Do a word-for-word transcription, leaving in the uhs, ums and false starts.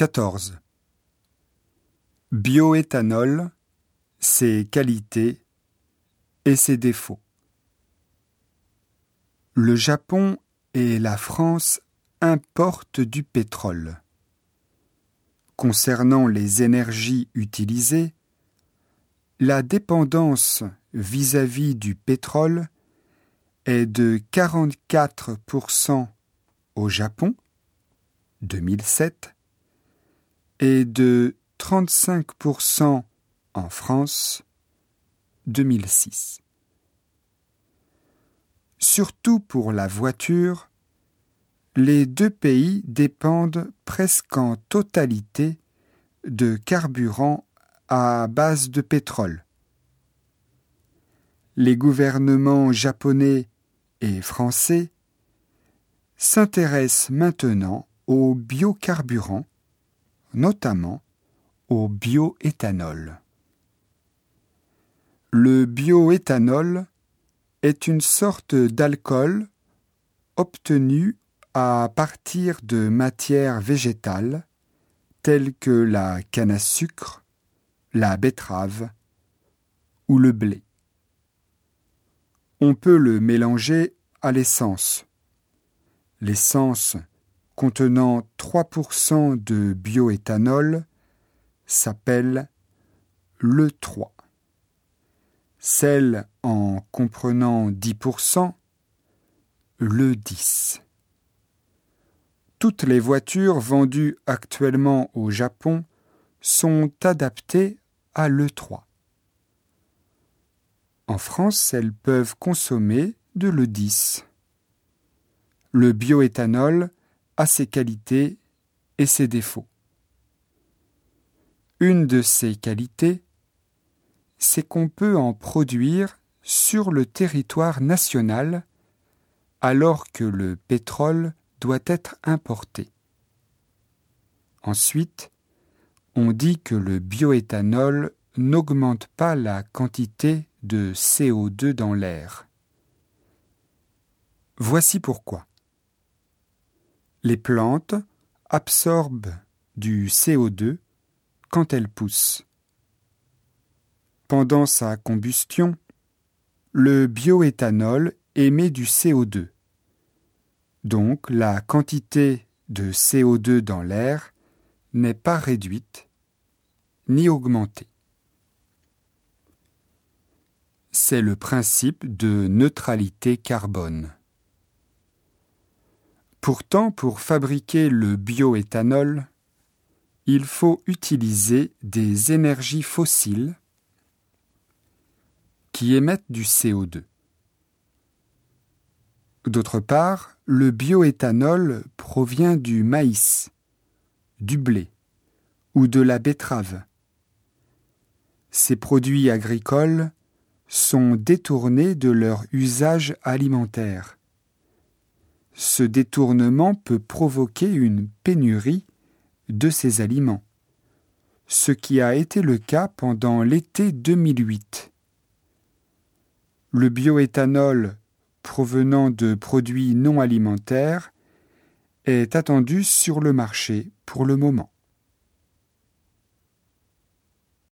quatorze. Bioéthanol, ses qualités et ses défauts. Le Japon et la France importent du pétrole. Concernant les énergies utilisées, la dépendance vis-à-vis du pétrole est de quarante-quatre pour cent au Japon, deux mille sept, et de trente-cinq pour cent en France, deux mille six. Surtout pour la voiture, les deux pays dépendent presque en totalité de carburant à base de pétrole. Les gouvernements japonais et français s'intéressent maintenant aux biocarburants, notamment au bioéthanol. Le bioéthanol est une sorte d'alcool obtenu à partir de matières végétales telles que la canne à sucre, la betterave ou le blé. On peut le mélanger à l'essence. L'essence contenant trois pour cent de bioéthanol s'appelle l'E trois. Celle en comprenant dix pour cent, l'E dix. Toutes les voitures vendues actuellement au Japon sont adaptées à l'E trois. En France, elles peuvent consommer de l'E dix. Le bioéthanol a ses qualités et ses défauts. Une de ses qualités, c'est qu'on peut en produire sur le territoire national alors que le pétrole doit être importé. Ensuite, on dit que le bioéthanol n'augmente pas la quantité de C O deux dans l'air. Voici pourquoi. Les plantes absorbent du C O deux quand elles poussent. Pendant sa combustion, le bioéthanol émet du C O deux. Donc la quantité de C O deux dans l'air n'est pas réduite ni augmentée. C'est le principe de neutralité carbone. Pourtant, pour fabriquer le bioéthanol, il faut utiliser des énergies fossiles qui émettent du C O deux. D'autre part, le bioéthanol provient du maïs, du blé ou de la betterave. Ces produits agricoles sont détournés de leur usage alimentaire. Ce détournement peut provoquer une pénurie de ces aliments, ce qui a été le cas pendant l'été deux mille huit. Le bioéthanol provenant de produits non alimentaires est attendu sur le marché pour le moment.